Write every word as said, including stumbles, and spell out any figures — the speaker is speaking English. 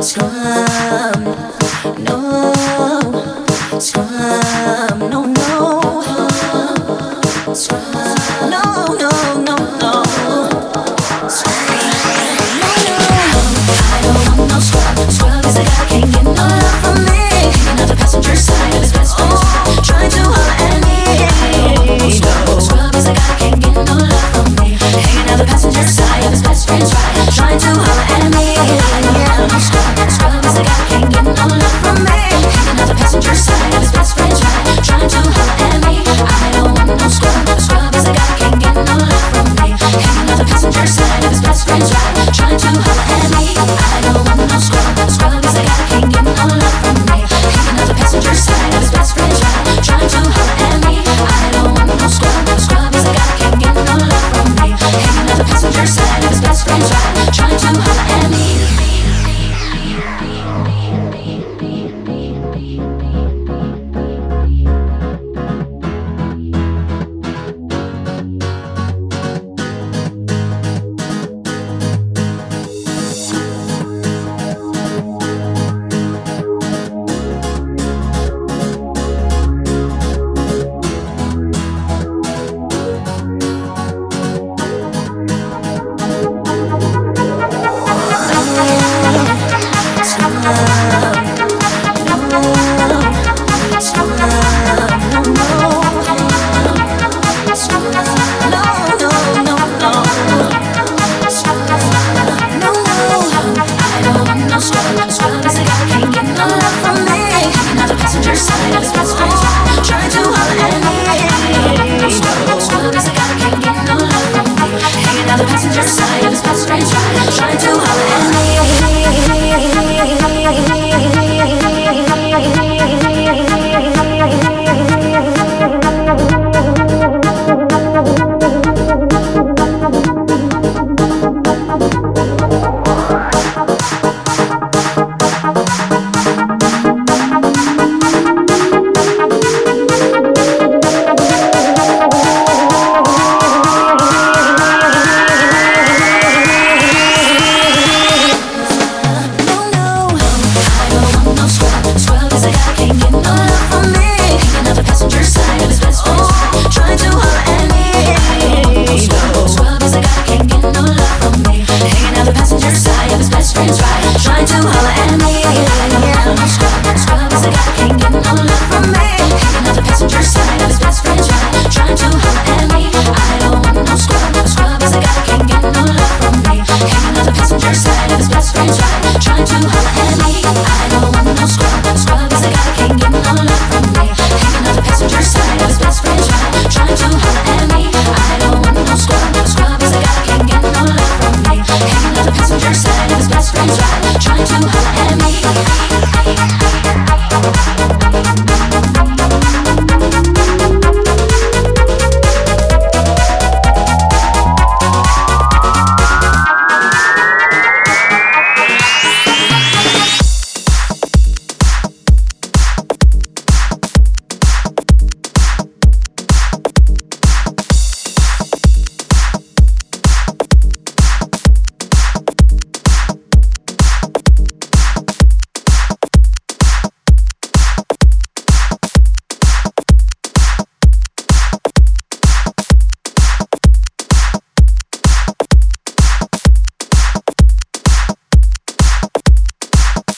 scrum, no, scrum, no, no, scrum, no, no, no, no, scrum, no, no. I don't want no scrub. Scrub is a guy can't get no love from me. Hanging out the passenger side of his best friend's ride, trying to holler at me. No, scrub is a guy can't get no love from me. Hanging out the passenger side of his best friend's ride, trying to holler at me. No scrub, scrub is a guy can't get no love from me. Hanging out the passenger side of his best friend's ride, trying to holler at me. I don't want no scrub. Scrub is a guy can't get no love from me. Hanging out the passenger side of his best friend's ride, trying to holler at me. I don't want no scrub. Scrub is a guy can't get no love from me. Hanging out the passenger side of his best friend's ride, trying to holler at me. I don't want no scrub. Scrub is a guy can't get no love from me. Hanging out the passenger side of his best friend's ride, trying to holler at me. The passenger side of his best friend's ride, trying to holler at me. Trying to holler at me. Scrub, scrub is a guy can't get no love from me. Hanging out the passenger side of his best friend's ride, trying to holler at me. I don't want no scrub. Scrub is a guy can't get no love from me. Hanging out the passenger side of his best friend's ride, trying to holler at me. I don't want no scrub. Scrub is a guy can't get no love from me. Hanging out the passenger side of his best friend's ride, trying to holler at me. I don't want no scrub. Scrub is a guy can't get no love from me. Hanging out the passenger side of his best friend's ride, trying to holler at me.